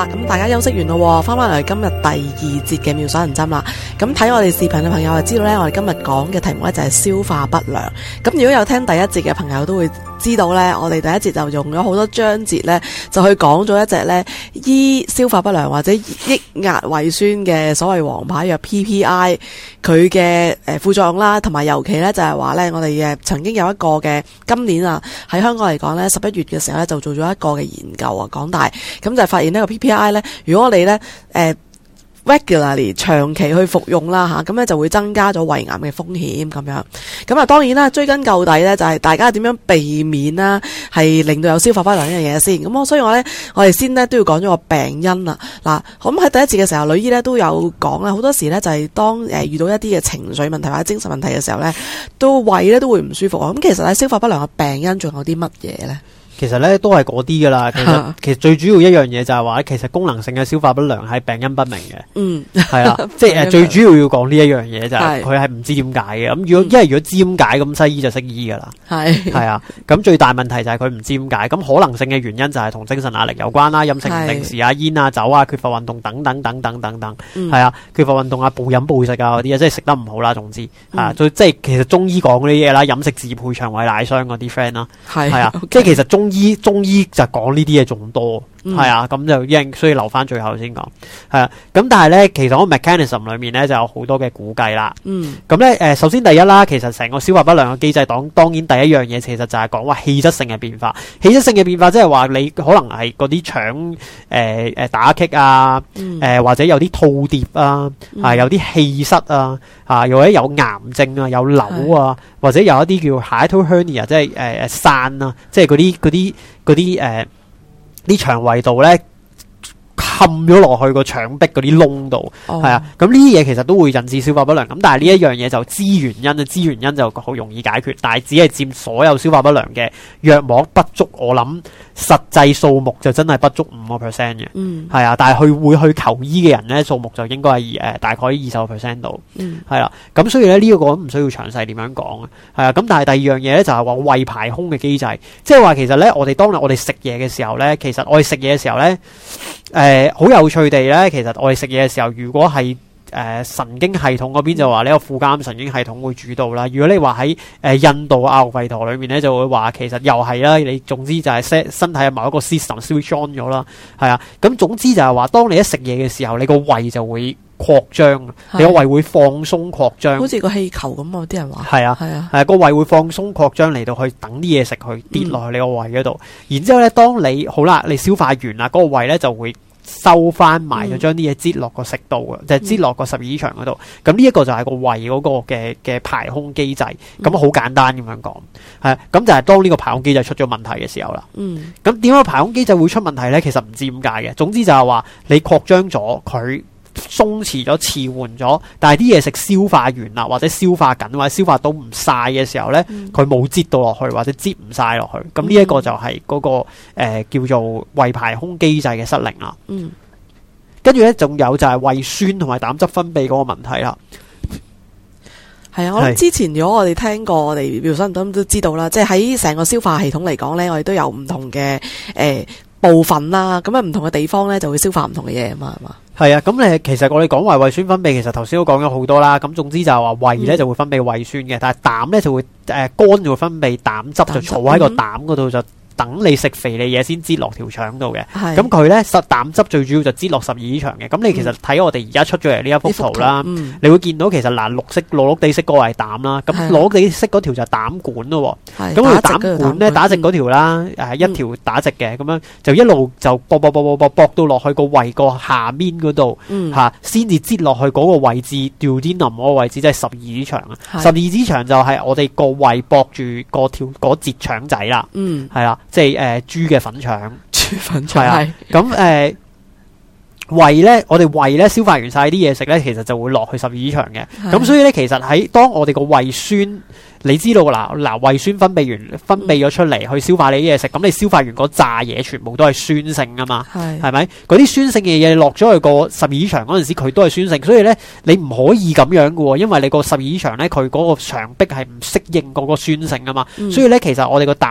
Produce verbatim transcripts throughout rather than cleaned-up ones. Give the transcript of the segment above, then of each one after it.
啦，咁大家休息完咯，翻翻嚟今日第二節嘅妙手銀針啦。咁睇我哋視頻嘅朋友就知道呢，我哋今日講嘅題目呢就係消化不良。咁如果有聽第一節嘅朋友都會知道呢，我哋第一節就用咗好多章節呢，就去講咗一隻呢醫消化不良或者抑壓胃酸嘅所謂王牌藥 P P I 佢嘅誒副作用啦，同埋尤其呢就係話呢，我哋誒曾經有一個嘅今年啊喺香港嚟講呢，十一月嘅時候呢，就做咗一個嘅研究啊，港大咁就發現呢個 P P I 呢，如果你呢誒、呃、regularly 長期去服用啦吓，咁咧就會增加咗胃癌嘅風險咁樣。咁啊，當然啦，追根究底咧，就係大家點樣避免啦，係令到有消化不良呢樣嘢先。咁我所以我咧，我哋先咧都要講咗個病因啦。嗱，咁喺第一節嘅時候，女醫咧都有講啦，好多時咧就係當誒遇到一啲嘅情緒問題或者精神問題嘅時候咧，都胃咧都會唔舒服啊。咁其實喺消化不良嘅病因仲有啲乜嘢咧？ 其實咧都係嗰啲噶啦，其實其實最主要一樣嘢就係話，其實功能性嘅消化不良係病因不明嘅。嗯，係啦，即係誒最主要要講呢一樣嘢就係佢係唔知點解嘅。咁如果因為如果知點解，咁西醫就識醫噶啦。係係啊，咁最大問題就係佢唔知點解。咁可能性嘅原因就係同精神壓力有關啦，飲食唔定時啊、煙啊、酒啊、缺乏運動等等等等等等。係啊，缺乏運動啊、暴飲暴食啊嗰啲啊，即係食得唔好啦。總之啊，最即係其實中醫講嗰啲嘢啦，飲食自配腸胃乃傷嗰啲 friend 啦，係係啊，即係其實中。中醫中醫就講呢啲嘢仲多，係、嗯、啊，咁就應所以留翻最後先講，係啊，咁但係咧，其實個 mechanism 裏面咧就有好多嘅估計啦，嗯，咁咧誒，首先第一啦，其實成個消化不良嘅機制，當當然第一樣嘢其實就係講話氣質性嘅變化，氣質性嘅變化即係話你可能係嗰啲腸誒誒打擊啊，誒、嗯呃、或者有啲吐碟啊，嗯、啊有啲氣塞啊，啊又或者有癌症啊，有瘤啊，或者有一啲叫 hiatal hernia， 即係誒誒散啊，即係嗰啲嗰啲嗰啲誒啲腸胃道咧冚咗落去個腸壁嗰啲窿度，係、oh. 啊，咁呢啲嘢其實都會引致消化不良。咁但係呢一樣嘢就知原因啊，知原因就好容易解決，但係只係佔所有消化不良嘅約莫不足，我諗實際數目就真係不足五個 percent 嘅，係、嗯、啊。但係佢會去求醫嘅人咧，數目就應該係誒、呃、大概二十個 percent 度，係啦。咁所以咧呢一、這個唔需要詳細點樣講啊，係啊。咁但係第二樣嘢咧就係話胃排空嘅機制，即係話其實咧我哋當日我哋食嘢嘅時候咧，其實我哋食嘢嘅時候咧，誒、呃、好有趣地咧，其實我哋食嘢嘅時候，如果係誒、呃、神經系統嗰邊就話呢個副交感神經系統會主導啦。如果你話喺誒印度阿育吠陀裏面咧，就會話其實又係啦。你總之就係 set 身體嘅某一個 system switch on 咗啦，係啊。咁總之就係話，當你一食嘢嘅時候，你個胃就會擴張，你個胃會放鬆擴張，好似個氣球咁啊！啲人話係啊，係啊，係個胃會放鬆擴張嚟到去等啲嘢食去跌落去你個胃嗰度。然之後咧，當你好啦，你消化完啦，嗰、那個胃咧就會收翻埋，就將啲嘢擠落個食道嘅，就係擠落個十二指腸嗰度。咁呢一個就係個胃嗰個嘅嘅排空機制。咁好簡單咁樣講，係咁就係當呢個排空機制出咗問題嘅時候啦。嗯，咁點解排空機制會出問題咧？其實唔知點解嘅。總之就係話你擴張咗佢。鬆弛咗、遲緩咗，但係啲嘢食消化完啦，或者消化緊，或者消化到唔晒嘅時候咧，佢冇擠到落去，或者擠唔晒落去，咁呢一個就係嗰、那個誒、呃、叫做胃排空機制嘅失靈啦。嗯，跟住咧仲有就係胃酸同埋膽汁分泌嗰個問題啦。係啊，我諗之前如果我哋聽過，我哋妙手銀針都知道啦，即係喺成個消化系統嚟講咧，我哋都有唔同嘅誒、呃、部分啦，咁啊唔同嘅地方咧就會消化唔同嘅嘢啊嘛，係嘛？係啊，咁誒，其實我哋講話胃酸分泌，其實頭先都講咗好多啦。咁總之就係話胃咧就會分泌胃酸嘅，嗯、但係膽咧就會誒肝就會分泌膽汁，膽汁就儲喺個膽嗰度就。等你食肥膩嘢先擠落條腸度嘅，咁佢咧實膽汁最主要就擠落十二指腸嘅。咁你其實睇我哋而家出咗嚟呢一幅圖啦，嗯、你會見到其實嗱綠色綠綠地色嗰個係膽啦，咁綠綠地色嗰條就係膽管咯。咁條膽管咧打直嗰條啦，誒一條打直嘅，咁樣就一路就搏搏搏搏搏搏到落去個胃個下面嗰度嚇，先至擠落去嗰個位置 duodenum 嗰個位置，即係十二指腸啊。十二指腸就係我哋個胃駁住個條嗰節腸仔啦，係啦。即係誒豬嘅粉腸，豬粉腸係啊，咁誒、呃、胃咧，我哋胃咧消化完晒啲嘢食咧，其實就會落去十二指腸嘅。咁所以咧，其實喺當我哋個胃酸，你知道嗱嗱胃酸分泌完分泌咗出嚟去消化你啲嘢食，咁你消化完嗰炸嘢全部都係酸性啊嘛，係咪？嗰啲酸性嘅嘢落咗去個十二指腸嗰陣時，佢都係酸性，所以咧你唔可以咁樣嘅喎，因為你個十二指腸咧佢嗰個腸壁係唔適應嗰個酸性啊嘛，嗯、所以咧其實我哋個膽汁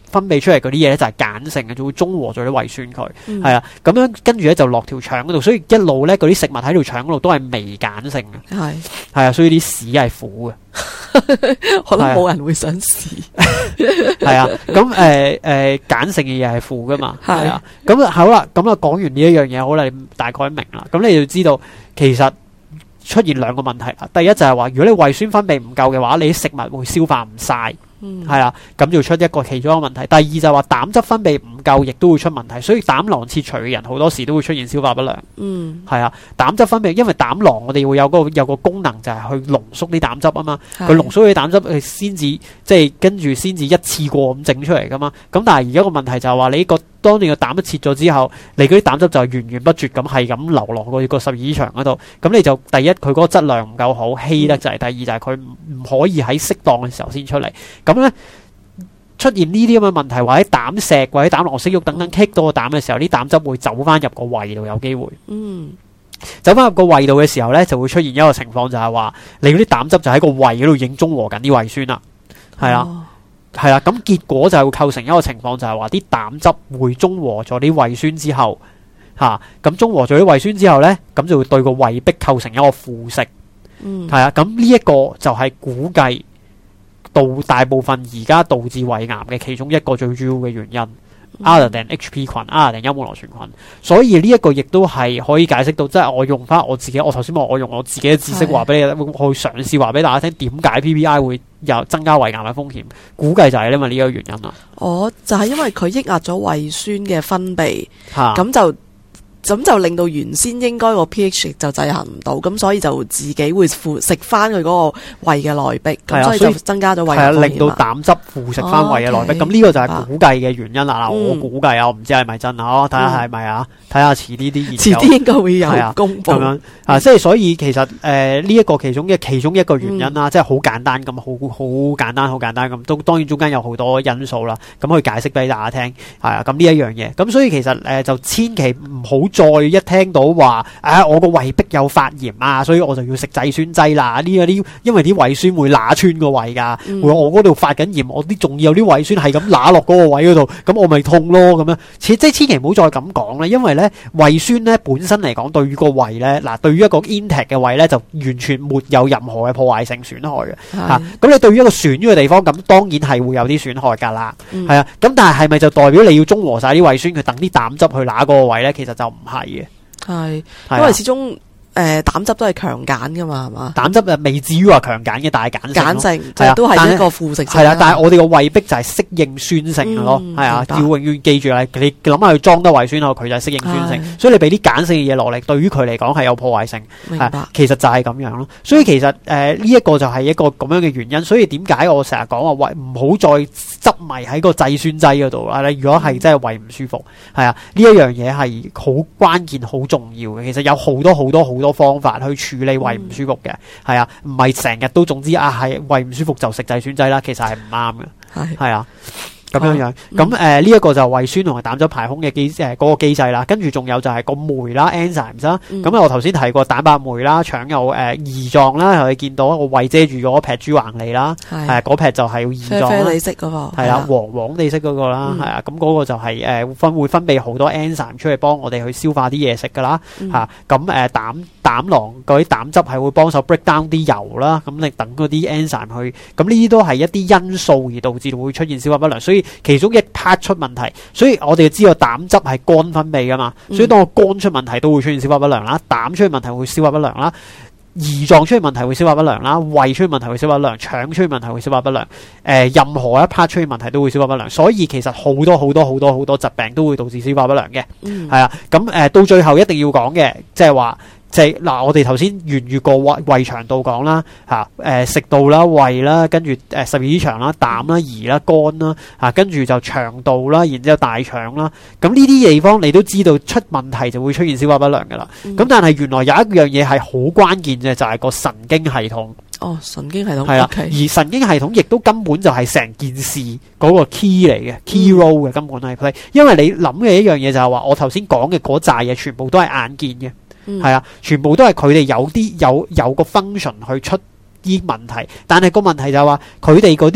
分泌出嚟嗰啲嘢咧就係鹼性嘅，就會中和咗啲胃酸佢，係、 嗯、 啊，咁樣跟住咧就落條腸嗰度，所以一路咧嗰啲食物喺條腸嗰度都係微鹼性嘅，係係啊，所以啲屎係苦嘅。 可能冇人會想試， 係啊，咁誒誒鹼性嘅嘢係負噶嘛，係啊，咁好啦，咁啊講完呢一樣嘢，好啦，你大概明啦，咁你就知道其實出現兩個問題啦。第一就係話，如果你胃酸分泌唔夠嘅話，你啲食物會消化唔晒。嗯，係啦，咁就出一個其中一個問題。第二就係話膽汁分泌唔夠，亦都會出問題。所以膽囊切除嘅人好多時都會出現消化不良。嗯，係啊，膽汁分泌，因為膽囊我哋會有個有個功能就係去濃縮啲膽汁啊嘛。佢濃縮啲膽汁，佢先至即係跟住先至一次過咁整出嚟噶嘛。咁但係而家個問題就係話，你個當你個膽一切咗之後，你嗰啲膽汁就係源源不絕咁係咁流落個個十二指腸嗰度。咁你就第一佢嗰個質量唔夠好，稀得滯；第二就係佢唔可以喺適當嘅時候先出嚟。咁咧出現呢啲咁嘅問題，或者膽石或者膽囊息肉等等棘到個膽嘅時候，啲膽汁會走翻入個胃度，有機會。嗯，走翻入個胃度嘅時候咧，就會出現一個情況，就係話你嗰啲膽汁就喺個胃嗰度已經中和緊啲胃酸啦，係啦、哦，係啦。咁結果就係會構成一個情況，就係話啲膽汁會中和咗啲胃酸之後，吓、啊、咁中和咗啲胃酸之後咧，咁就會對個胃壁構成一個腐蝕。嗯，係啊。咁呢一個就係估計到大部分而家導致胃癌嘅其中一個最主要嘅原因。other than H P 群，other than幽門螺旋菌，所以呢一個亦都係可以解釋到，即係我用翻我自己，我頭先話我用我自己嘅知識話俾你，去嘗試話俾大家聽，點解 P P I 會有增加胃癌嘅風險？估計就係因為呢個原因啦。哦，就係因為佢抑壓咗胃酸嘅分泌，咁就。咁就令到原先應該個 pH 就制衡唔到，咁所以就自己會腐蝕翻佢嗰個胃嘅內壁，咁、啊、所以就增加咗胃嘅風險。係啊，令到膽汁腐蝕翻胃嘅內壁。咁呢、哦 okay, 個就係估計嘅原因啦。嗱、啊，我估計啊，我唔知係咪真啊，睇下係咪啊，睇下遲啲啲研究。遲啲應該會有公布。咁樣啊，即係所以其實誒呢一個其中嘅其中一個原因啦，嗯、即係好簡單咁，好好簡單，好簡單咁，都當然中間有好多因素啦。咁去解釋俾大家聽，係啊，咁呢一樣嘢。咁所以其實誒、呃、就千祈唔好再一聽到話啊，我個胃壁有發炎啊，所以我就要食制酸劑啦。呢啲因為啲胃酸會乸穿個胃噶，嗯、會我嗰度發緊炎，我啲仲要有啲胃酸係咁乸落嗰個位嗰度，咁我咪痛咯咁樣。即係千祈唔好再咁講啦，因為咧胃酸咧本身嚟講，對於個胃咧，嗱對於一個 intact 嘅胃咧，就完全沒有任何嘅破壞性損害嘅吓。咁你對於一個損咗嘅地方，咁當然係會有啲損害噶啦，係、嗯、啊。咁但係係咪就代表你要中和晒啲胃酸，佢等啲膽汁去乸嗰個胃咧？其實就唔係嘅。係，因為始終誒膽汁都係強鹼噶嘛，係嘛？膽汁誒未至於話強鹼嘅，但係鹼性，鹼性係啊，都係一個腐蝕性。係啦，但係我哋個胃壁就係適應酸性嘅咯，係啊，要永遠記住啦，你諗下佢裝得胃酸後，佢就係適應酸性，所以你俾啲鹼性嘅嘢落嚟，對於佢嚟講係有破壞性。明白，其實就係咁樣咯。所以其實誒呢一個就係一個咁樣嘅原因。所以點解我成日講話胃唔好再執迷喺個制酸劑嗰度啦？如果係真係胃唔舒服，係啊，呢一樣嘢係好關鍵、好重要嘅。其實有好多好多好多方法去處理胃唔舒服嘅，係、嗯、啊，唔係成日都總之啊係胃唔舒服就食制酸劑啦，其實係唔啱嘅，係係啊。咁樣樣，咁誒呢一個就係胃酸同埋膽汁排空嘅機誒嗰個機制啦，跟住仲有就係個酶啦 enzymes 啦，咁、嗯、我頭先提過蛋白酶啦，腸有誒胰臟啦，你見到個胃遮住嗰撇豬橫脷啦，係嗰撇就係胰臟啦，啡啡哋色嗰個係啦，黃黃哋色嗰個啦，係啊，咁嗰個就係誒分會分泌好多 enzyme 出嚟幫我哋去消化啲嘢食噶啦，嚇咁誒膽膽囊嗰啲膽汁係會幫手 break down 啲油啦，咁你等嗰啲 enzyme 去，咁呢啲都係一啲因素而導致會出現消化不良，所以其中一 part 出問題，所以我哋知道膽汁係肝分泌噶嘛，所以當個肝出問題都會出現消化不良啦，膽出現問題會消化不良啦，胰臟出現問題會消化不良啦，胃出現問題會消化不良，腸出現問題會消化不良，誒、呃、任何一 part 出現問題都會消化不良，所以其實好多好多好多好多疾病都會導致消化不良嘅，係、嗯、啊，咁誒、呃、到最後一定要講嘅，即係話。即係嗱，我哋頭先沿住個胃胃腸道講啦，嚇誒食道啦、胃啦，跟住誒十二指腸啦、膽啦、胰啦、肝啦，嚇跟住就腸道啦，然之後大腸啦，咁呢啲地方你都知道出問題就會出現消化不良噶啦。咁、嗯、但係原來有一樣嘢係好關鍵嘅，就係、是、個神經系統。哦，神經系統係啦，而神經系統亦都根本就係成件事嗰個 key 嚟嘅、嗯、key role 嘅，根本係 play。因為你諗嘅一樣嘢就係話，我頭先講嘅嗰扎嘢全部都係眼見嘅。係、嗯、啊，全部都係佢哋有啲有有個 function 去出啲問題，但係個問題就係話佢哋嗰啲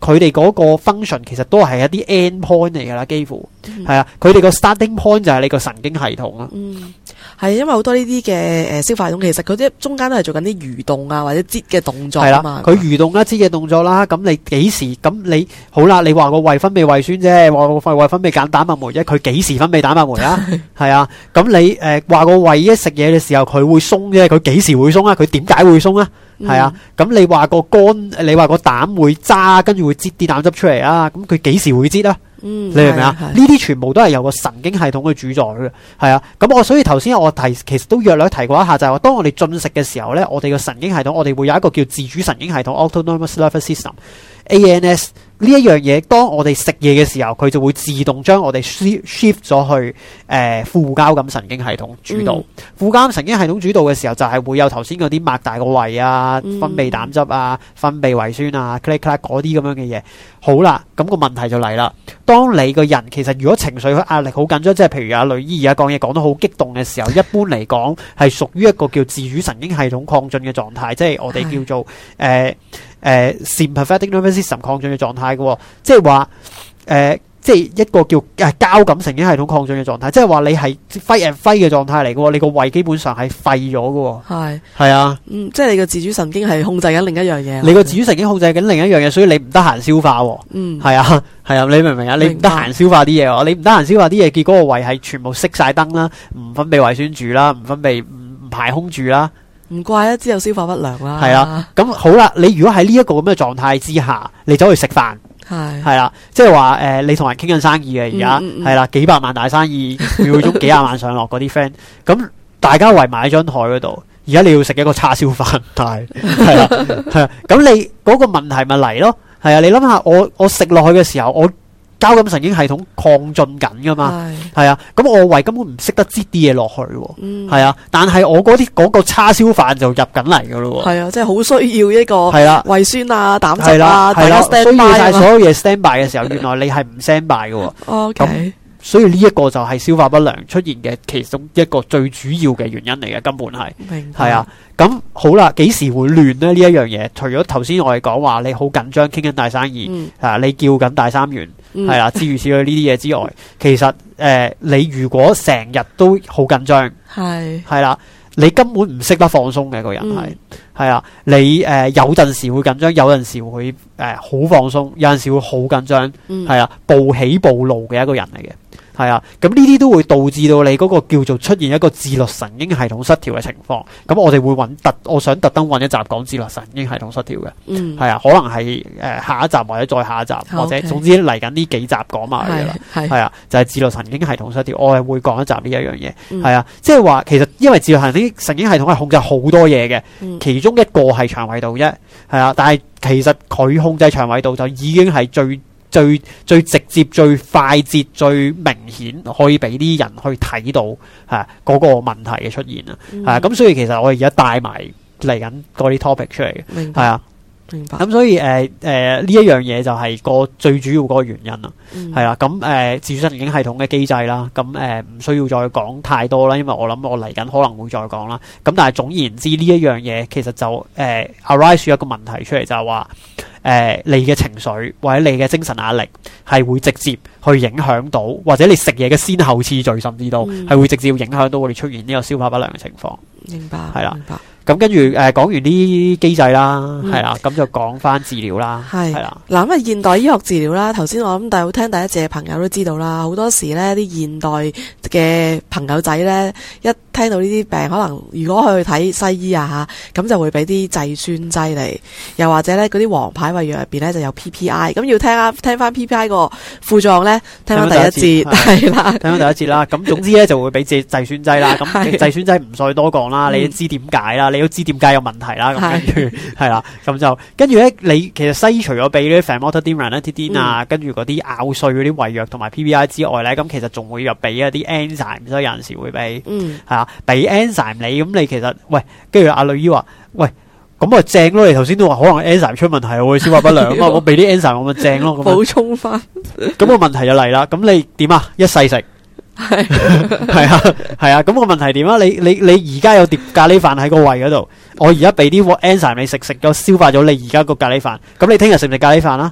佢哋嗰個 function 其實都係一啲 end point 嚟噶啦，幾乎係、嗯、啊，佢哋個 starting point 就係你個神經系統啊。 嗯，係因為好多呢啲嘅誒消化系統，其實佢啲中間都係做緊啲蠕動啊或者擠嘅動作啊嘛。 佢蠕動啦、擠嘅動作啦，咁你幾時咁你好啦？你話個胃分泌胃酸啫，話個胃分泌揀蛋白酶啫，佢幾時分泌蛋白酶啊？係啊，咁你誒話個胃一食嘢嘅時候佢會鬆啫，佢幾時會鬆啊？佢點解會鬆啊？係、嗯、啊，咁你話個肝，你話個膽會渣，跟住會擠啲膽汁出嚟啊？咁佢幾時會擠啊？嗯，你明唔明啊？呢啲全部都係由個神經系統去主宰嘅，係啊。咁我所以頭先我提，其實都約略提過一下，就係、是、話當我哋進食嘅時候咧，我哋個神經系統，我哋會有一個叫自主神經系統 （Autonomous Nervous System）。A N S 呢一樣嘢，當我哋食嘢嘅時候，佢就會自動將我哋 shift 咗去誒、呃、副交感神經系統主導。嗯、副交感神經系統主導嘅時候，就係會有頭先嗰啲擘大個胃啊、分泌膽汁啊、分泌胃酸啊、click click 嗰啲咁樣嘅嘢。好啦，咁、那個問題就嚟啦。當你個人其實如果情緒壓力好緊張，即係譬如阿女醫而家講嘢講得好激動嘅時候，一般嚟講係屬於一個叫自主神經系統亢進嘅狀態，即係我哋叫做誒誒 sympathetic nervous system 亢進嘅狀態嘅，即係話誒，即係一個叫誒交感神經系統亢進嘅狀態，即係話你係 fight and flight 嘅狀態嚟嘅，你個胃基本上係廢咗嘅，係係啊， 嗯，即係你個自主神經係控制緊另一樣嘢， 你個自主神經控制緊另一樣嘢，所以你唔得閒消化，嗯，係啊係啊，你明唔明啊？你唔得閒消化啲嘢，你唔得閒消化啲嘢，結果個胃係全部熄晒燈啦，唔分泌胃酸住啦，唔分泌唔排空住啦。 唔怪啊，之後消化不良啦。 係啦，咁好啦，你如果喺呢一個咁嘅狀態之下，你走去食飯，係係啦，即係話誒，你同人傾緊生意嘅而家係啦，幾百萬大生意，秒鐘幾廿萬上落嗰啲 friend，咁大家圍埋喺張台嗰度，而家你要食一個叉燒飯，係係啦，係啊，咁你嗰個問題咪嚟咯？係啊，你諗下，我我食落去嘅時候，我交感神經系統亢進緊噶嘛，係啊，咁我胃根本唔識得擠啲嘢落去，係、嗯、啊，但係我嗰啲嗰個叉燒飯就入緊嚟噶咯，係啊，即係好需要一個係啦，胃酸啊、膽汁啊， 係啦， 需要晒所有嘢 stand by 嘅時候，原來你係唔 stand by 嘅，咁、okay。所以呢一個就係消化不良出現嘅其中一個最主要嘅原因嚟嘅，根本係係啊。咁好啦，幾時會亂呢？呢一樣嘢，除咗頭先我哋講話你好緊張傾緊大生意，嗯、啊，你叫緊大三元，係啦、嗯，諸如此類呢啲嘢之外，其實誒、呃，你如果成日都好緊張，係係啦，你根本唔識得放鬆嘅個人係係啊，你誒、呃、有陣時會緊張，有陣時會誒好、呃、放鬆，有陣時會好緊張，係、嗯、啊，暴起暴怒嘅一個人嚟嘅。係啊，咁呢啲都會導致到你嗰個叫做出現一個自律神經系統失調嘅情況。咁我哋會揾特，我想特登揾一集講自律神經系統失調嘅。嗯，係啊，可能係誒、呃、下一集或者再下一集，嗯、或者總之嚟緊呢幾集講埋嘅啦。係係啊，就係、是、自律神經系統失調，我係會講一集呢一樣嘢。係、嗯、啊，即係話其實因為自律神經神經系統係控制好多嘢嘅、嗯，其中一個係腸胃道啫。係啊，但係其實佢控制腸胃道就已經係最。最最直接、最快捷、最明顯，可以俾啲人去睇到嚇嗰個問題嘅出現啊！係咁、嗯，所以其實我哋而家帶埋嚟緊嗰啲 topic 出嚟嘅，係啊，明白。咁所以誒誒呢一樣嘢就係個最主要嗰個原因啦，係啦。咁誒自主神經系統嘅機制啦，咁誒唔需要再講太多啦，因為我諗我嚟緊可能會再講啦。咁但係總言之，呢一樣嘢其實就誒、呃、arise 一個問題出嚟，就係話。誒、呃，你嘅情緒或者你嘅精神壓力係會直接去影響到，或者你食嘢嘅先後次序，甚至到係、嗯、會直接影響到我哋出現呢個消化不良嘅情況。明白，係啦，明白。咁跟住誒講完啲機制啦，係、嗯、啦，咁就講翻治療啦，係啦。嗱咁啊，現代醫學治療啦，頭先我諗大家聽第一節嘅朋友都知道啦，好多時咧啲現代嘅朋友仔咧，一聽到呢啲病，可能如果去睇西醫啊嚇，咁就會俾啲制酸劑嚟，又或者咧嗰啲黃牌胃藥入邊咧就有 P P I， 咁要聽啊聽翻 P P I 個副作用咧，聽翻第一節係啦，聽翻第一節啦。咁總之咧就會俾制制酸劑啦，咁制酸劑唔再多講啦，你都知點解啦。你都知點解有問題啦，咁跟住係啦，咁就跟住咧，你其實西醫除咗俾啲 famotidine、ranitidine 啊，跟住嗰啲咬碎嗰啲胃藥同埋 P P I 之外咧，咁其實仲會有俾一啲 enzyme， 所以有陣時會俾，嗯，係啊，俾 enzyme 你，咁你其實喂，跟住阿女醫話，喂，咁啊正咯，你頭先都話可能 enzyme 出問題，我會消化不良啊嘛，我俾啲 enzyme 我咪正咯，補充翻，咁個問題就嚟啦，咁你點啊？一世食。係係啊係啊，咁個問題點啊？你你你而家有碟咖喱飯喺個胃嗰度，我而家俾啲 enzyme 你食，食咗消化咗你而家個咖喱飯，咁你聽日食唔食咖喱飯啊？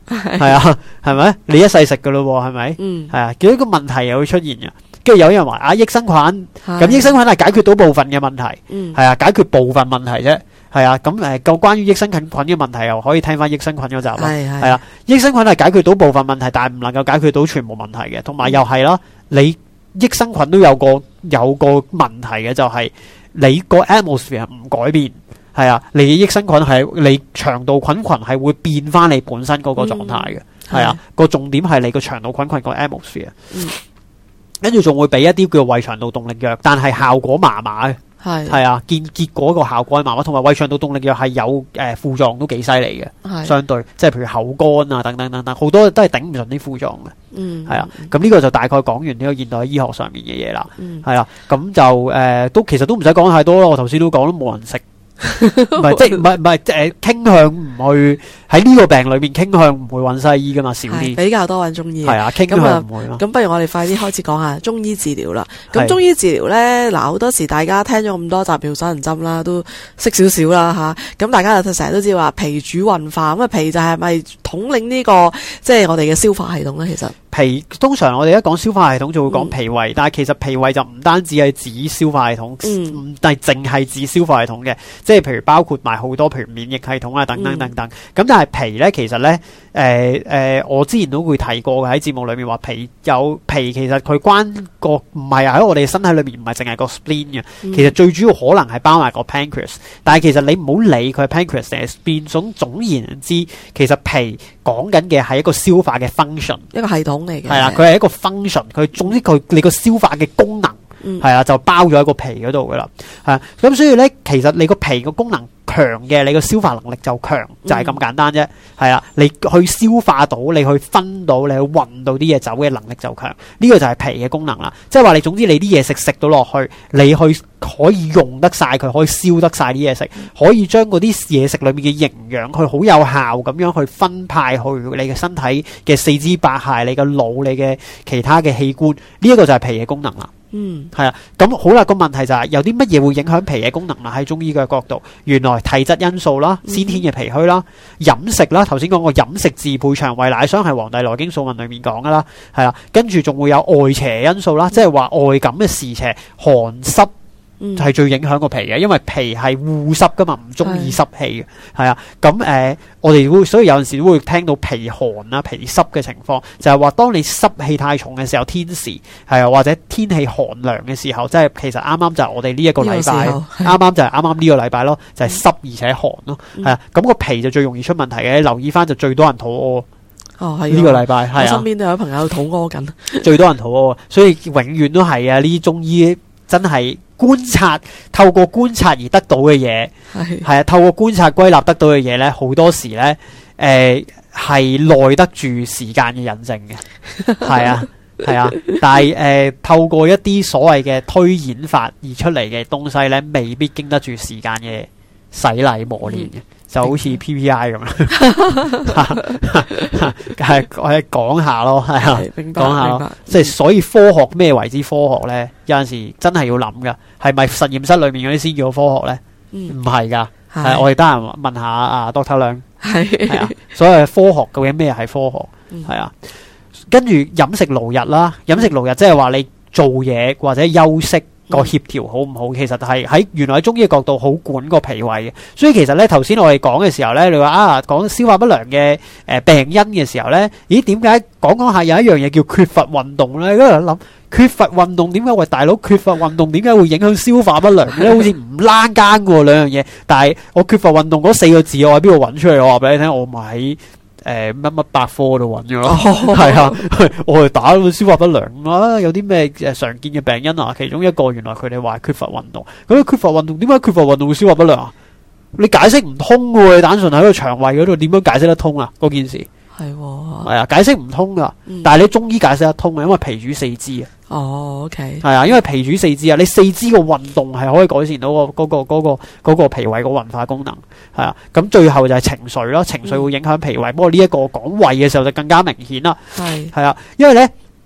係啊，係咪？你一世食噶咯，係咪？嗯，係啊，結果個問題又會出現嘅。跟住有人話啊，益生菌，咁益生菌係解決到部分嘅問題，係啊，解決部分問題啫。係啊，咁誒，個關於益生菌菌嘅問題又可以聽翻益生菌嗰集啦。係係啊，益生菌係解決到部分問題，但係唔能夠解決到全部問題嘅。同埋又係啦，你益生菌都有個有個問題嘅，就係你個 atmosphere 唔改變。係啊，你益生菌係你腸道菌群係會變翻你本身嗰個狀態嘅。係啊，個重點係你個腸道菌群個 atmosphere。跟住仲會俾一啲叫胃腸道動力藥，但係效果麻麻嘅。係係啊，見結果個效果係麻麻，同埋胃腸道動力藥係有誒副作用都幾犀利嘅。相對即係譬如口乾啊等等等等，好多都係頂唔順啲副作用嘅。嗯，係啊，咁呢個就大概講完呢個現代醫學上面嘅嘢啦。嗯，係啦，咁就誒都其實都唔使講太多咯。我頭先都講都冇人食。唔係即係唔係唔係誒傾向唔去喺呢個病裏面傾向唔會揾西醫噶嘛，少啲比較多揾中醫。 係啊，傾向唔會咯。 咁不如我哋快啲開始講下中醫治療啦。咁中醫治療咧，嗱好多時大家聽咗咁多集妙手銀針啦，都識少少啦吓。咁大家就成日都知話脾主運化，咁啊脾就係咪統領呢個即係我哋嘅消化系統咧？其實脾通常我哋一講消化系統就會講脾胃，嗯、但係其實脾胃就唔單止係指消化系統，唔係淨係指消化系統嘅，即係譬如包括埋好多譬如免疫系統啊等等等等。咁、嗯、但係脾咧，其實咧，誒、呃、誒、呃，我之前都會提過嘅喺節目裏面話脾有脾，其實佢關個唔係喺我哋身體裏面唔係淨係個 spleen 嘅，嗯、其實最主要可能係包埋個 pancreas。但係其實你唔好理佢係 pancreas 定係 spleen，總總言之，其實脾講緊嘅係一個消化嘅 function， 一個系統。 係啊，佢係一個 function， 佢總之佢你個消化嘅功能係啊、嗯，就包咗喺個脾嗰度噶啦。係啊，咁所以咧，其實你個脾個功能強嘅，你個消化能力就強，就係、是、咁簡單啫。係啊，你去消化到，你去分到，你去運到啲嘢走嘅能力就強。呢、這個就係脾嘅功能啦。即係話你總之你啲嘢食食到落去，你去可以用得晒佢，可以燒得晒啲嘢食，可以將嗰啲嘢食裏面嘅營養，佢好有效咁樣去分派去你嘅身體嘅四肢百骸、你嘅腦、你嘅其他嘅器官。呢、這、一個就係脾嘅功能啦。嗯，係啊，咁好啦，個問題就係、是、有啲乜嘢會影響脾嘅功能啦？喺中醫嘅角度，原來體質因素啦、先天嘅脾虛啦、飲食啦，頭先講過飲食自配腸胃乃傷係《黃帝內經素問》裏面講噶啦，係啦，跟住仲會有外邪因素啦，即係話外感嘅時邪、寒濕。係、嗯、最影響個脾嘅，因為脾係護濕噶嘛，唔中意濕氣嘅，係啊。咁誒、呃，我哋會所以有陣時都會聽到脾寒啊、脾濕嘅情況，就係、是、話當你濕氣太重嘅時候，天時係啊，或者天氣寒涼嘅時候，即係其實啱啱就係我哋呢一個禮拜，啱啱就係啱啱呢個禮拜咯，就係、是、濕而且寒咯，係啊。咁、嗯、個脾就最容易出問題嘅，留意翻就最多人肚屙。哦，係呢個禮拜，係啊， 我身邊都有朋友肚屙緊， 最多人肚屙，所以永遠都係啊，呢啲中醫真係。觀察透過觀察而得到嘅嘢，係係啊，透過觀察歸納得到嘅嘢咧，好多時咧，誒係耐得住時間嘅印證嘅，係啊係啊，但係誒、呃、透過一啲所謂嘅推演法而出嚟嘅東西咧，未必經得住時間嘅洗禮磨練嘅。嗯，就好似 P P I 咁樣，係我係講下咯，係啊，講下咯，即係所以科學咩為之科學咧？有陣時真係要諗噶，係咪實驗室裏面嗰啲先叫科學咧？唔係噶，係我哋得閒問下啊 Doctor 梁，係啊，所謂科學究竟咩係科學？係啊，跟住飲食勞逸啦，飲食勞逸即係話你做嘢或者休息。個協調好唔好？其實係喺原來喺中醫嘅角度好管個脾胃嘅，所以其實咧頭先我哋講嘅時候咧，你話啊講消化不良嘅誒病因嘅時候咧，咦點解講講下有一樣嘢叫缺乏運動咧？嗰度諗缺乏運動點解？喂大佬缺乏運動點解會影響消化不良咧？好似唔拉更嘅兩樣嘢，但係我缺乏運動嗰四個字我喺邊度揾出嚟？我話俾你聽，我咪喺誒乜乜百科度揾咗咯，係啊，我哋打消化不良啊，有啲咩誒常見嘅病因啊？其中一個原來佢哋話缺乏運動，咁缺乏運動點解缺乏運動會消化不良啊？你解釋唔通嘅喎，你單純喺個腸胃嗰度點樣解釋得通啊？嗰件事係係啊，解釋唔通噶，嗯、但係你中醫解釋得通嘅，因為脾主四肢啊。哦 ，OK，係啊，因為脾主四肢啊，你四肢個運動係可以改善到個嗰個嗰個嗰個脾胃個運化功能，係啊。咁最後就係情緒咯，情緒會影響脾胃。不過呢一個講胃嘅時候就更加明顯啦。係係啊，因為咧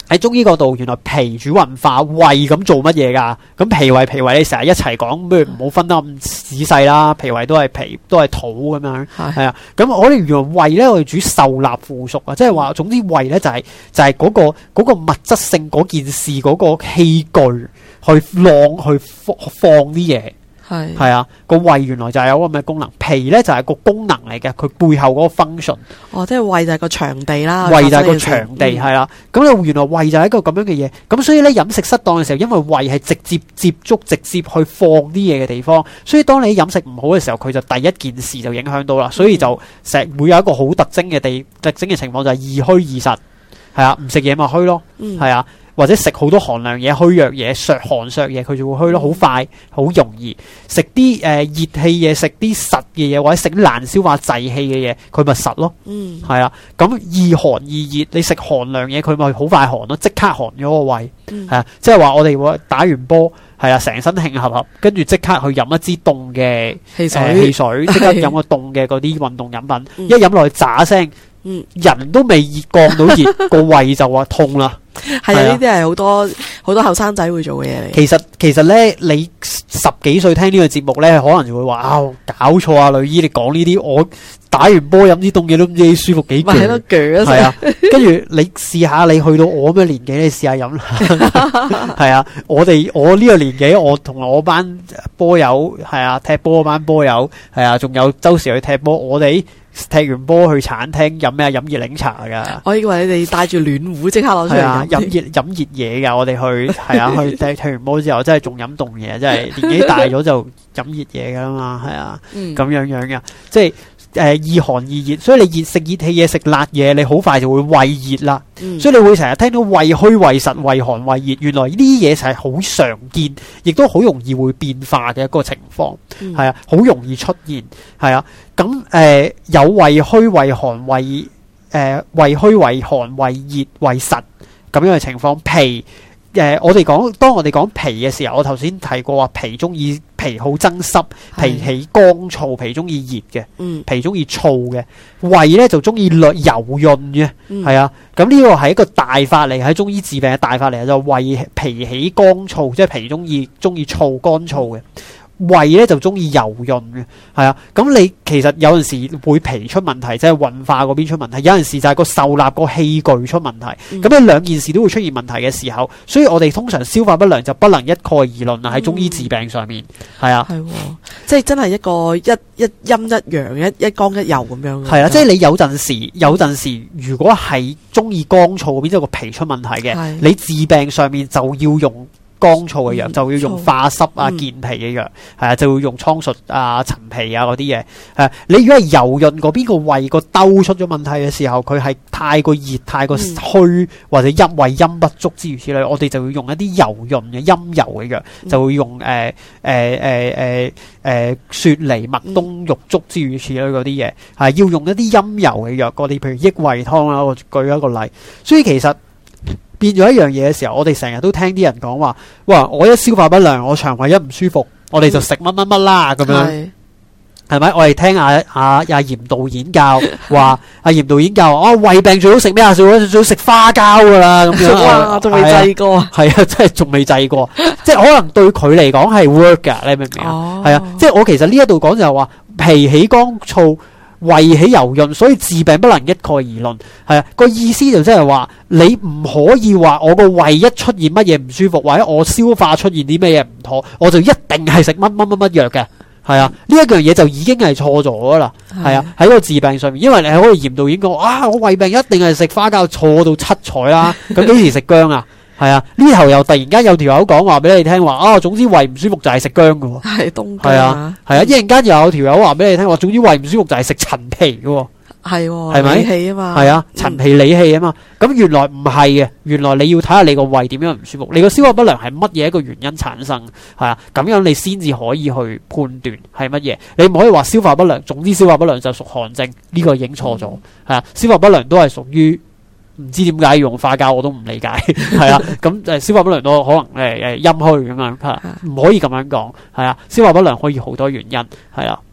喺中醫角度，原來脾主運化，胃咁做乜嘢噶？咁脾胃脾胃，你成日一齊講，不如唔好分得咁仔細啦。脾胃都係脾，都係土咁樣，係啊。咁我哋原來胃咧，我哋主受納附屬啊，即係話，總之胃咧就係、是、就係、是、嗰、那個嗰、那個物質性嗰件事嗰、那個器具去晾去放放啲嘢。係係啊，個胃原來就係有咁嘅功能，脾咧就係、是、個功能嚟嘅，佢背後嗰個 function。哦，即係胃就係個場地啦，胃就係個場地係啦。咁咧、嗯、原來胃就係一個咁樣嘅嘢，咁所以咧飲食失當嘅時候，因為胃係直接接觸、直接去放啲嘢嘅地方，所以當你飲食唔好嘅時候，佢就第一件事就影響到啦。所以就成日會有一個好特徵嘅地特徵嘅情況就係易虛易實，係啊，唔食嘢咪虛咯，係、嗯、啊。或者食好多寒涼嘢、虛弱嘢、削寒削嘢，佢就會虛咯，好快、好容易。食啲誒熱氣嘢，食啲實嘅嘢，或者食啲難消化滯氣嘅嘢，佢咪實咯。嗯，係啊。咁易寒易熱，你食寒涼嘢，佢咪好快寒咯，即刻寒咗個胃。係、嗯、啊，即係話我哋會打完波，係啊，成身慶合合，跟住即刻去飲一支凍嘅汽水，呃、汽水即刻飲個凍嘅嗰啲運動飲品，嗯、一飲落去喳聲。嗯，人都未熱降到熱，個胃就話痛啦。係啊，呢啲係好多好多後生仔會做嘅嘢嚟。其實其實咧，你十幾歲聽呢個節目咧，可能就會話啊，搞錯啊，女醫，你講呢啲，我打完波飲啲凍嘢都唔知舒服幾攰。咪喺度鋸啊！係啊，跟住你試下，你去到我咁嘅年紀，你試下飲啦。係啊，我哋我呢個年紀，我同我班波友係啊，踢波嗰班波友係啊，仲有周時去踢波，我哋。踢完波去餐廳飲咩？飲熱檸茶噶。我以為你哋帶住暖壺即刻攞出嚟飲熱飲熱嘢噶。我哋去係啊，去踢踢完波之後，真係仲飲凍嘢，真係年紀大咗就飲熱嘢噶啦嘛，係啊，咁、嗯、樣樣嘅，即係。誒、呃，易寒易熱，所以你熱食熱氣嘢，食辣嘢，你好快就會胃熱啦。嗯、所以你會成日聽到胃虛、胃實、胃寒、胃熱，原來呢啲嘢就係好常見，亦都好容易會變化嘅一個情況，係、嗯、啊，好容易出現，係啊。咁誒、呃，有胃虛、胃寒、胃誒、呃、胃虛、胃寒、胃熱、胃實咁樣嘅情況，脾。誒、呃，我哋講，當我哋講脾嘅時候，我頭先提過話，脾中意脾好增濕，脾起乾燥，脾中意熱嘅，嗯，脾中意燥嘅，胃咧就中意略柔潤嘅，係、嗯、啊，咁呢個係一個大法嚟，喺中醫治病嘅大法嚟，就胃脾起乾燥，即係脾中意中意燥乾燥嘅。胃咧就中意柔潤嘅，係啊，咁你其實有陣時會脾出問題，即係運化嗰邊出問題，有陣時就係個受納個器具出問題，咁呢、嗯、兩件事都會出現問題嘅時候，所以我哋通常消化不良就不能一概而論啊，喺中醫治病上面，係啊，係，即係真係一個一一陰一陽一一剛一柔咁樣，係啊，即係你有陣時有陣時如果係中意乾燥嗰邊，即係個脾出問題嘅，你治病上面就要用。乾燥嘅藥、嗯、就要用化濕啊、健脾嘅藥，係啊，就要用蒼術啊、陳皮啊嗰啲嘢。誒，你如果係柔潤嗰邊個胃個兜出咗問題嘅時候，佢係太過熱、太過虛、嗯、或者陰胃陰不足之如此類，我哋就要用一啲柔潤嘅陰柔嘅藥，嗯、就會用誒誒誒誒誒雪梨、麥冬、玉竹之如此類嗰啲嘢，係要用一啲陰柔嘅藥，我哋譬如益胃湯啦，我舉一個例。所以其實變咗一樣嘢嘅時候，我哋成日都聽啲人講話，哇！我一消化不良，我腸胃一唔舒服，我哋就食乜乜乜啦咁樣，係咪？我哋聽阿阿阿嚴導演教話，阿嚴導演教我胃病最好食咩啊？最好最好食花膠噶啦咁樣。哇！仲未制過，係啊，真係仲未制過，即係可能對佢嚟講係 work 噶，你明唔明啊？係啊，即係我其實呢一度講就係話脾起乾燥。胃起柔潤，所以治病不能一概而論，係啊，個意思就即係話你唔可以話我個胃一出現乜嘢唔舒服，或者我消化出現啲咩嘢唔妥，我就一定係食乜乜乜乜藥嘅，係啊，呢一樣嘢就已經係錯咗啦，係啊，喺個治病上面，因為你喺個嚴導演講啊，我胃病一定係食花膠，錯到七彩啦，咁幾時食薑啊？係啊，呢頭又突然間有條友講話俾你聽話，啊，總之胃唔舒服就係食薑嘅，係冬薑，係啊，係啊，一陣間又有條友話俾你聽話，總之胃唔舒服就係食陳皮嘅，係，係咪？理氣啊嘛，係啊，陳皮理氣啊嘛，咁、嗯、原來唔係嘅，原來你要睇下你個胃點樣唔舒服，你個消化不良係乜嘢一個原因產生，係啊，咁樣你先至可以去判斷係乜嘢，你唔可以話消化不良，總之消化不良就屬寒症，呢、這個已經錯咗，係、嗯、啊，消化不良都係屬於。唔知點解要用花膠，我都唔理解，係啊，咁誒消化不良都可能誒誒陰虛咁樣，唔可以咁樣講，係啊，消化不良可以好多原因，係啊，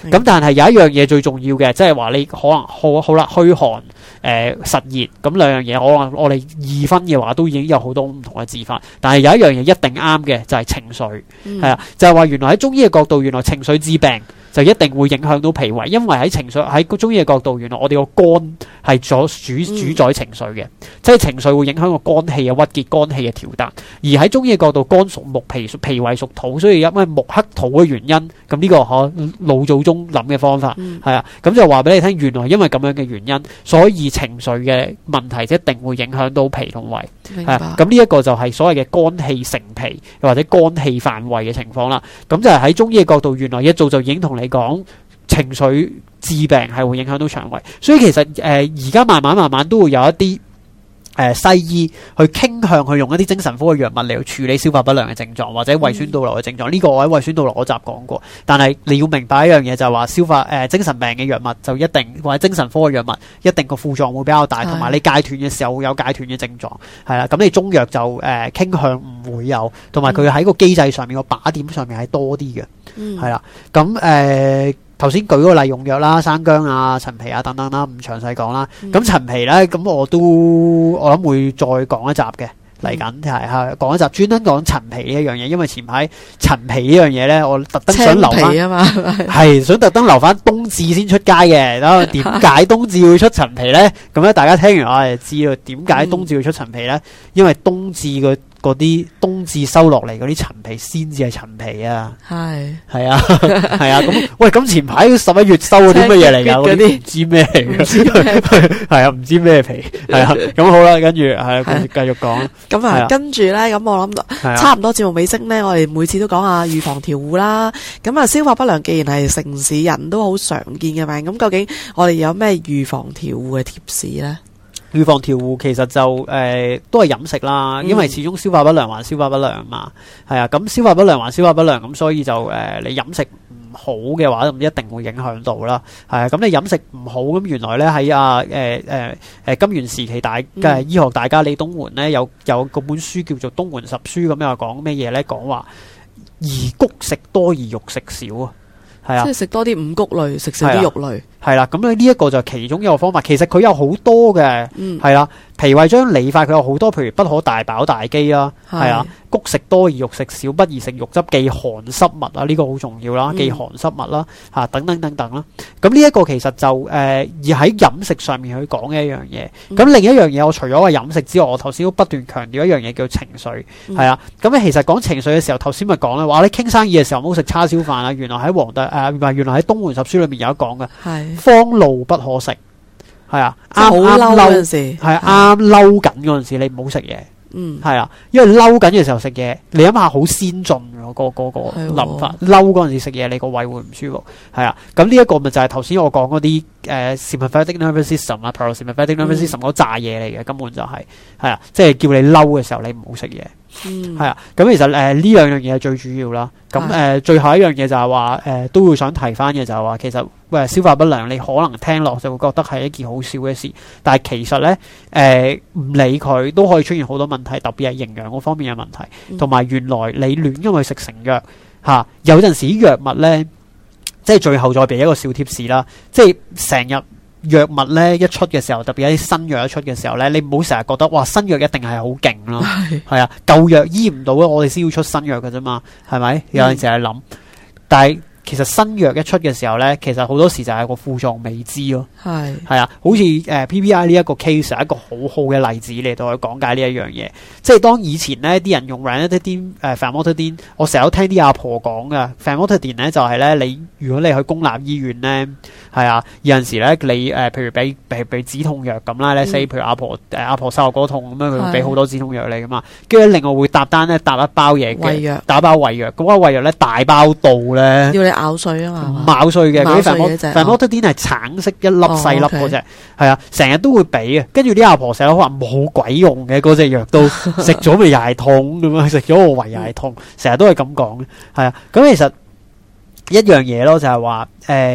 咁、嗯、但係有一樣嘢最重要嘅，即係話你可能好好啦，虛寒誒、呃、實熱咁兩樣嘢，可能我哋二分嘅話都已經有好多唔同嘅治法。但係有一樣嘢一定啱嘅就係、是、情緒，係、嗯、啊，就係、是、話原來喺中醫嘅角度，原來情緒致病就一定會影響到脾胃，因為喺情緒喺中醫嘅角度，原來我哋個肝係主主主宰情緒嘅，嗯、即係情緒會影響個肝氣嘅鬱結、肝氣嘅調達。而喺中醫嘅角度，肝屬木，脾脾胃屬土，所以因為木克土嘅原因，咁呢、這個可老祖宗諗嘅方法係、嗯、啊，咁就話俾你聽，原來因為咁樣嘅原因，所以情緒嘅問題一定會影響到脾同胃。係啊，咁呢一個就係所謂嘅肝氣成脾，或者肝氣犯胃嘅情況啦。咁就係喺中醫嘅角度，原來一早就已經同你講情緒致病係會影響到腸胃，所以其實誒而家慢慢慢慢都會有一啲誒、呃、西醫去傾向去用一啲精神科嘅藥物嚟去處理消化不良嘅症狀或者胃酸倒流嘅症狀。呢、嗯、個我喺胃酸倒流嗰集講過，但係你要明白一樣嘢就係話消化誒、呃、精神病嘅藥物就一定或者精神科嘅藥物一定個副作用會比較大，同埋你戒斷嘅時候會有戒斷嘅症狀係啦。咁你中藥就誒傾、呃、向唔會有，同埋佢喺個機制上面個靶點上面係多啲嘅，係啦、嗯。咁誒。頭先舉個例用藥啦，生薑啊、陳皮啊等等啦，唔詳細講啦。咁、嗯、陳皮咧，咁我都我諗會再講一集嘅嚟緊，係係講一集專登講陳皮呢一樣嘢，因為前排陳皮呢樣嘢咧，我特登想留翻啊嘛，係想特登留翻冬至先出街嘅。咁點解冬至會出陳皮咧？咁咧大家聽完我就知道點解冬至會出陳皮咧？因為冬至個嗰啲冬至收落嚟嗰啲陳皮先至係陳皮啊，係係啊係啊。咁喂，咁前排十一月收嗰啲乜嘢嚟噶？嗰啲唔知咩嚟嘅，係啊，唔知咩皮係啊。咁好啦，跟住係啊，繼續講。咁啊，跟住咧，咁我諗差唔多節目尾聲咧，我哋每次都講下預防調護啦。咁啊，消化不良既然係城市人都好常見嘅病，咁究竟我哋有咩預防調護嘅貼士咧？預防調護其實就誒、呃、都係飲食啦，因為始終消化不良還消化不良嘛，係啊，咁消化不良還消化不良，咁所以就誒、呃、你飲食唔好嘅話，咁一定會影響到啦，係啊，咁你飲食唔好，咁原來咧喺啊誒誒誒金元時期大嘅醫學大家李東垣咧有有嗰本書叫做《東垣十書》，咁又講咩嘢咧？講話宜谷食多而肉食少啊，係啊，即係食多啲五穀類，食少啲肉類。係啦，咁咧呢一個就係其中一個方法，其實佢有好多嘅，係啦、嗯，脾胃將理法佢有好多，譬如不可大飽大飢啦，係啊，穀食多而肉食少，不宜食肉汁，忌寒濕物啊，呢、這個好重要啦，忌寒濕物啦，吓、啊、等等等等啦。咁呢一個其實就誒、呃、而喺飲食上面去講嘅一樣嘢。咁、嗯、另一樣嘢，我除咗話飲食之外，我頭先都不斷強調一樣嘢叫情緒，係啊、嗯。咁咧其實講情緒嘅時候，頭先咪講咧，話你傾生意嘅時候唔好食叉燒飯啊。原來喺黃帝誒唔係，原來喺東垣十書裏面有一講嘅。係。荒怒不可食，係啊，啱啱嬲嗰陣時，係啱嬲緊嗰陣時，你唔好食嘢，嗯，係啊，因為嬲緊嘅時候食嘢，你諗下好先進嗰個嗰個諗法，嬲嗰陣時食嘢，你個胃會唔舒服，係啊，咁呢一個咪就係頭先我講嗰啲誒 sympathetic nervous system 啊 parasympathetic nervous system 嗰扎嘢嚟嘅，根本就係係啊，即係叫你嬲嘅時候，你唔好食嘢。嗯，係啊，咁其實誒呢兩樣嘢係最主要啦。咁誒、呃、最後一樣嘢就係話誒都會想提翻嘅就係話，其實喂消化不良你可能聽落就會覺得係一件好少嘅事，但係其實咧誒唔理佢都可以出現好多問題，特別係營養嗰方面嘅問題，同埋、嗯、原來你亂因為食成藥吓、啊，有陣時啲藥物咧，即係最後再俾一個小貼士啦，即係成日。藥物咧一出嘅時候，特別一啲新藥一出嘅時候咧，你唔好成日覺得哇新藥一定係好勁咯，係啊，舊藥醫唔到，我哋先要出新藥㗎啫嘛，係咪？有陣時係諗，但係其實新藥一出嘅時候咧，其實好多時就係個副作用未知咯，係係啊，好似誒、呃、P P I 呢一個 case 係一個好好嘅例子嚟到去講解呢一樣嘢，即係當以前咧啲人用 ranitidine 誒 famotidine，我成日都聽啲阿婆講㗎 famotidine 咧就係、是、咧你如果你去公立醫院咧。係啊，有陣時咧，你誒、呃，譬如俾俾俾止痛藥咁啦，咧 say，譬如阿婆誒、呃、阿婆膝頭哥痛咁樣，佢會俾好多止痛藥你噶嘛，跟住另外會搭單咧搭一包嘢嘅，胃藥打包胃藥，咁個胃藥咧大包到咧，要你咬碎啊嘛，唔咬碎嘅，嗰啲 famotidine 係橙色一粒細粒嗰隻，係、哦、啊，成日都會俾嘅，跟住啲阿婆成日都話冇鬼用嘅嗰隻藥都食咗咪又係痛咁樣，食咗個胃又係痛，成日都係咁講嘅，係啊，咁其實一樣嘢咯，就係話誒。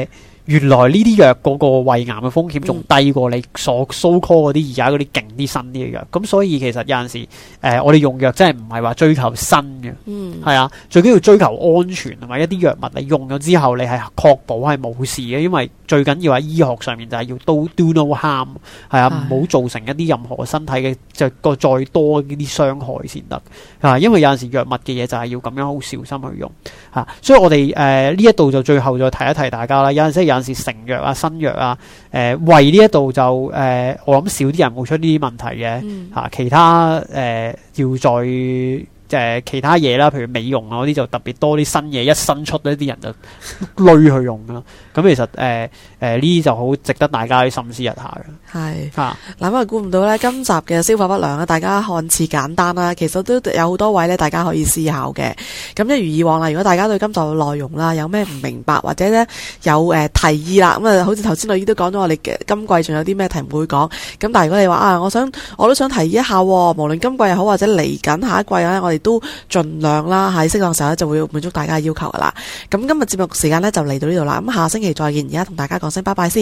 原來呢啲藥嗰個胃癌嘅風險仲低過你所 so call 嗰啲而家嗰啲勁啲新啲嘅藥。咁所以其實有陣時誒、呃，我哋用藥真係唔係話追求新嘅，嗯，係啊，最緊要追求安全同埋一啲藥物你用咗之後，你係確保係冇事嘅，因為最緊要喺醫學上面就係要 do do no harm， 係啊，唔好造成一啲任何身體嘅就個再多呢啲傷害先得啊。因為有陣時藥物嘅嘢就係要咁樣好小心去用嚇、啊，所以我哋誒呢一度就最後再提一提大家啦。有陣時有陣時成藥啊、新藥啊，誒、呃、胃呢一度就誒、呃、我諗少啲人會出呢啲問題嘅嚇、嗯啊，其他誒、呃、要再。誒、呃、其他嘢啦，譬如美容啊嗰啲就特別多啲新嘢一新出呢啲人就累去用啦。咁其實誒誒呢啲就好值得大家去深思一下嘅。係嚇， 嗱咁啊估唔到咧，今集嘅消化不良咧，大家看似簡單啦，其實都有好多位咧，大家可以思考嘅。咁一如以往啦，如果大家對今集嘅內容啦有咩唔明白或者咧有誒、呃、提議啦，咁啊好似頭先女醫都講咗，我哋嘅今季仲有啲咩題目會講。咁但係如果你話啊，我想我都想提議一下，無論今季又好或者嚟緊下，下一季咧，我哋都盡量啦，喺適當時候咧就會滿足大家嘅要求噶啦。咁今日節目時間咧就嚟到呢度啦。咁下星期再見，而家同大家講聲拜拜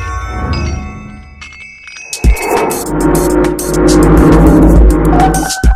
先。you